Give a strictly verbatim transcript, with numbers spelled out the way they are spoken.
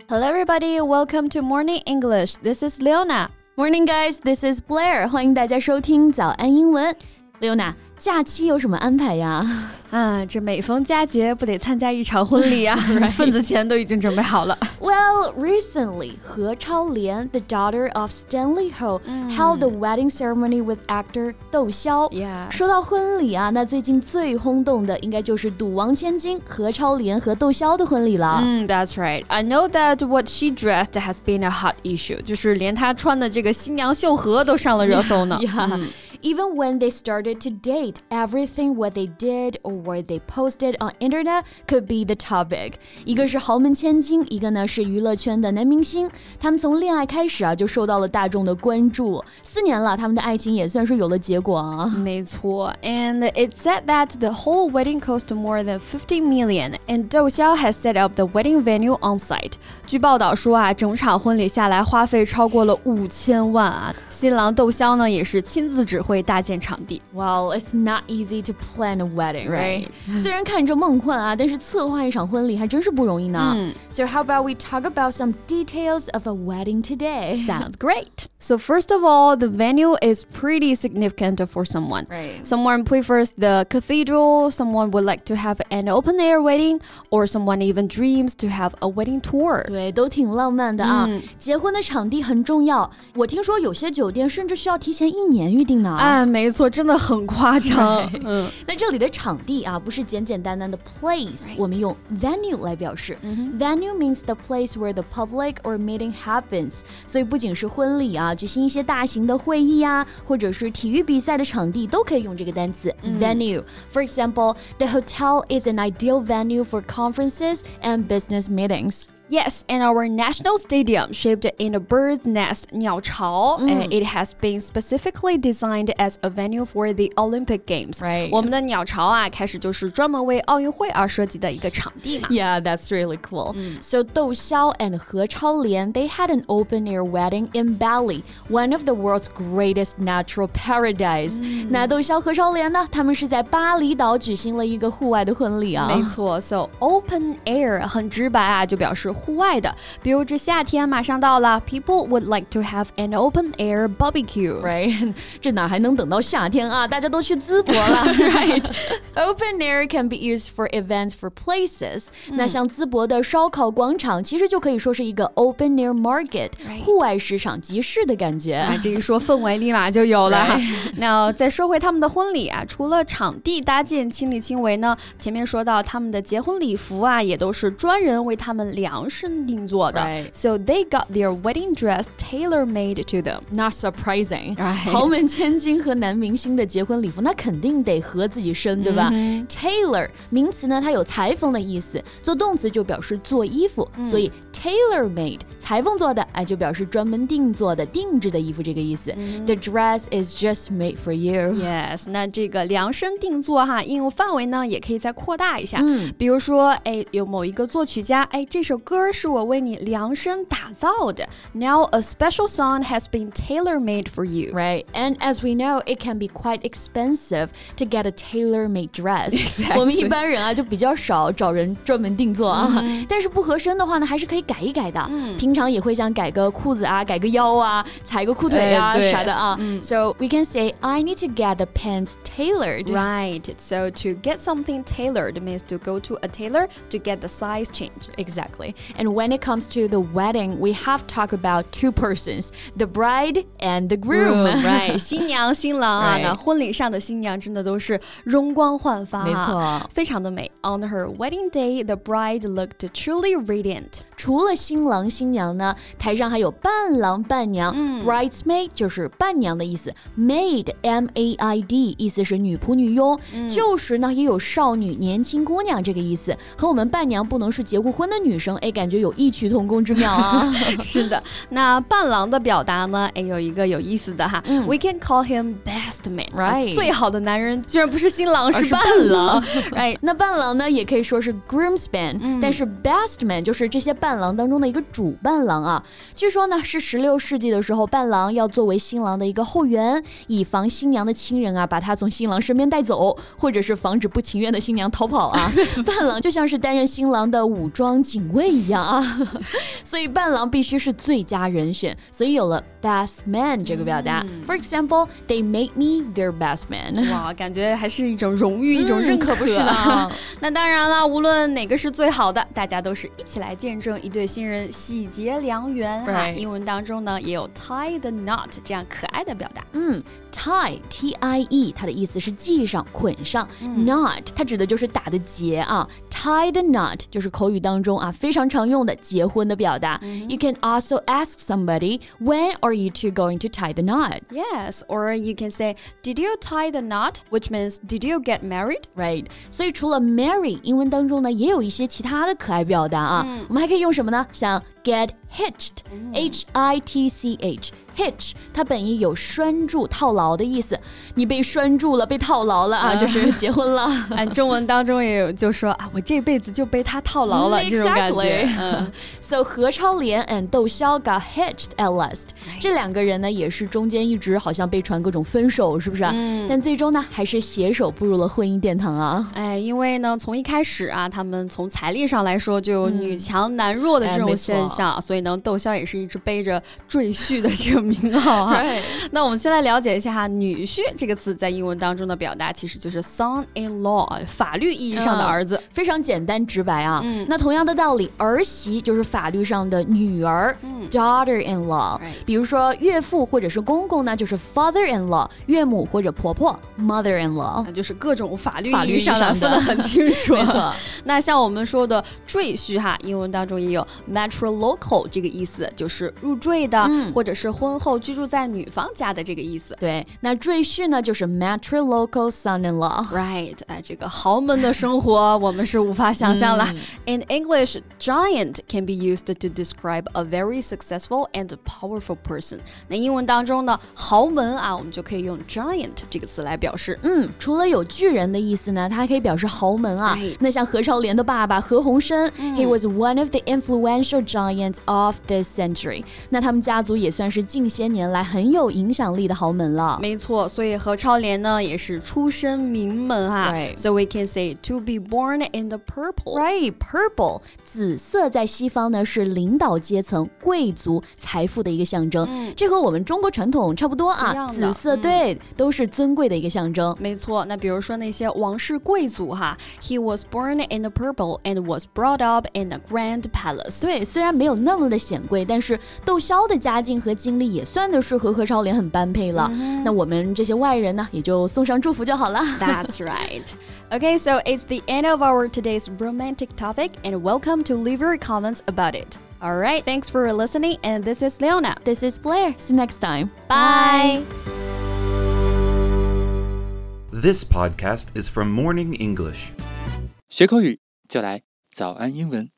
Hello everybody, welcome to Morning English. This is Leona. Morning guys, this is Blair. 欢迎大家收听早安英文。Leona, 假期有什么安排呀？ 啊，这每逢佳节不得参加一场婚礼啊，份子钱都已经准备好了。 Well, recently, 何超莲, the daughter of Stanley Ho, held the wedding ceremony with actor 窦骁。 Yes. 说到婚礼啊，那最近最轰动的应该就是赌王千金何超莲和窦骁的婚礼了。 嗯 That's right. I know that what she dressed has been a hot issue. 就是连她穿的这个新娘秀禾都上了热搜呢。 Yeah. yeah. Even when they started to date, everything what they did or what they posted on internet could be the topic. 一个是豪门千金，一个呢是娱乐圈的男明星。他们从恋爱开始啊，就受到了大众的关注。四年了，他们的爱情也算是有了结果啊。 没错 ，and it said that the whole wedding cost more than fifty million, and 窦骁 has set up the wedding venue on site. 据报道说啊，整场婚礼下来花费超过了五千万啊。新郎窦骁呢也是亲自指会搭建场地。 Well, it's not easy to plan a wedding, right? Right. 虽然看着梦幻啊，但是策划一场婚礼还真是不容易呢。 嗯 So how about we talk about some details of a wedding today? Sounds great. So first of all, the venue is pretty significant for someone. Right. Someone prefers the cathedral, someone would like to have an open-air wedding, or someone even dreams to have a wedding tour. 对，都挺浪漫的啊。 嗯结婚的场地很重要，我听说有些酒店甚至需要提前一年预定呢。 啊，没错，真的很夸张。嗯， 那这里的场地啊，不是简简单单的 place， 我们用 venue 来表示。Venue means the place where the public or meeting happens。所以不仅是婚礼啊，举行一些大型的会议啊，或者是体育比赛的场地，都可以用这个单词 venue。For example, the hotel is an ideal venue for conferences and business meetings.Yes, and our national stadium, shaped in a bird's nest, 鸟巢, and it has been specifically designed as a venue for the Olympic Games. Right. 我们的鸟巢啊，开始就是专门为奥运会而设计的一个场地嘛。 Yeah, that's really cool. So 窦骁 and 何超莲, they had an open-air wedding in Bali, one of the world's greatest natural paradise. 那窦骁何超莲呢？他们是在巴厘岛举行了一个户外的婚礼啊。 没错 ，So open air 很直白啊，就表示户外的，比如这夏天马上到了 ，people would like to have an open air barbecue, right? 这哪还能等到夏天啊？大家都去淄博了 ，right? Open air can be used for events for places. 那像淄博的烧烤广场，其实就可以说是一个 open air market, 户外市场集市的感觉。 啊，这一说氛围立马就有了哈。那再说回他们的婚礼啊，除了场地搭建亲力亲为呢，前面说到他们的结婚礼服啊，也都是专人为他们量身定做的。 Right. So they got their wedding dress tailor-made to them. Not surprising. Right. 豪门千金和男明星的结婚礼服，那肯定得合自己身，对吧、mm-hmm. Tailor 名词呢，它有裁缝的意思，做动词就表示做衣服，嗯、所以 tailor-made 裁缝做的，哎，就表示专门定做的、定制的衣服这个意思。Mm-hmm. The dress is just made for you. Yes. 那这个量身定做哈，应用范围呢也可以再扩大一下。 嗯， 比如说，哎，有某一个作曲家，哎，这首歌是我为你量身打造的。Now a special song has been tailor-made for you. Right. And as we know, it can be quite expensive to get a tailor-made dress. Exactly. 我们一般人啊就比较少找人专门定做啊。Mm-hmm. 但是不合身的话呢，还是可以改一改的。嗯、平常也会想改个裤子啊，改个腰啊，裁个裤腿啊、啥的啊。嗯、so we can say, I need to get the pants tailored. Right. So to get something tailored means to go to a tailor to get the size changed. Exactly. And when it comes to the wedding, we have to talk about two persons, the bride and the groom. Right. 新娘新郎啊， right. 那婚礼上的新娘真的都是容光焕发， 没错， 非常的美。On her wedding day, the bride looked truly radiant. 除了新郎新娘呢，台上还有伴郎伴娘。嗯、bridesmaid 就是伴娘的意思 ，maid M A I D 意思是女仆女佣，嗯、就是呢也有少女年轻姑娘这个意思，和我们伴娘不能是结过婚的女生，哎，感觉有异曲同工之妙啊。 是的，那伴郎的表达呢，哎，有一个有意思的哈、嗯、，We can call him best man， right？ 最好的男人居然不是新郎，是伴郎，right？ 那伴郎呢，也可以说是 groomsman，、嗯、但是 best man 就是这些伴郎当中的一个主伴郎啊。据说呢，是十六世纪的时候，伴郎要作为新郎的一个后援，以防新娘的亲人啊把他从新郎身边带走，或者是防止不情愿的新娘逃跑啊。伴郎就像是担任新郎的武装警卫一一样啊。所以伴郎必须是最佳人选，所以有了 best man 这个表达。嗯、For example, they made me their best man. 哇，感觉还是一种荣誉，嗯、一种认可， 可不是啦。 那当然了，无论哪个是最好的，大家都是一起来见证一对新人喜结良缘哈。 Right. 英文当中呢，也有 tie the knot 这样可爱的表达。 嗯。tie T I E 它的意思是系上捆上、嗯、knot 它指的就是打的结啊 tie the knot 就是口语当中啊非常常用的结婚的表达、嗯、You can also ask somebody when are you two going to tie the knot Yes, or you can say did you tie the knot which means did you get married Right 所以除了 marry 英文当中呢也有一些其他的可爱表达啊、嗯、我们还可以用什么呢像 get hitched、嗯、H I T C H hitch 它本意有拴住套牢的意思你被拴住了被套牢了啊、嗯、就是结婚了按中文当中也有就说啊我这辈子就被他套牢了、嗯、这种感觉、嗯、 So 何超莲 and 窦骁 got hitched at last、right. 这两个人呢也是中间一直好像被传各种分手是不是、嗯、但最终呢还是携手步入了婚姻殿堂啊哎，因为呢从一开始啊他们从财力上来说就有女强男弱的这种现象、哎、所以呢窦骁也是一直背着赘婿的这个名号啊。 Right. 那我们先来了解一下女婿这个词在英文当中的表达其实就是 son-in-law 法律意义上的儿子、嗯、 非常简单直白啊、嗯、那同样的道理儿媳就是法律上的女儿、嗯、daughter-in-law、right. 比如说岳父或者是公公呢就是 father-in-law 岳母或者婆婆 mother-in-law 那就是各种法律意义上的分得很清楚没错那像我们说的赘婿哈英文当中也有 matrilocal 这个意思就是入赘的、嗯、或者是婚后居住在女方家的这个意思对那赘婿呢就是 matrilocal son-in-law Right 哎，这个豪门的生活我们是无法想象了、嗯、In English, giant can be used to describe a very successful and powerful person 那英文当中呢豪门啊我们就可以用 giant 这个词来表示嗯，除了有巨人的意思呢它还可以表示豪门啊、right. 那像何超莲的爸爸何鸿燊、嗯、He was one of the influential giants of this century 那他们家族也算是近些年来很有影响力的豪门了没错所以何超莲呢也是出身名门哈、 right. So we can say to be born in the purple Right, purple 紫色在西方呢是领导阶层贵族财富的一个象征、嗯、这和我们中国传统差不多啊紫色、嗯、对都是尊贵的一个象征没错那比如说那些王室贵族哈 He was born in the purple and was brought up in a grand palace 对虽然没有那么的显贵但是窦骁的家境和经历也算得是和何超莲很般配了、嗯、那我们这些外人呢也就送上祝福就好了 That's right Okay, so it's the end of our today's romantic topic and welcome to leave your comments about it. Alright, thanks for listening and this is Leona. This is Blair. See you next time. Bye. This podcast is from Morning English. 学口语就来早安英文。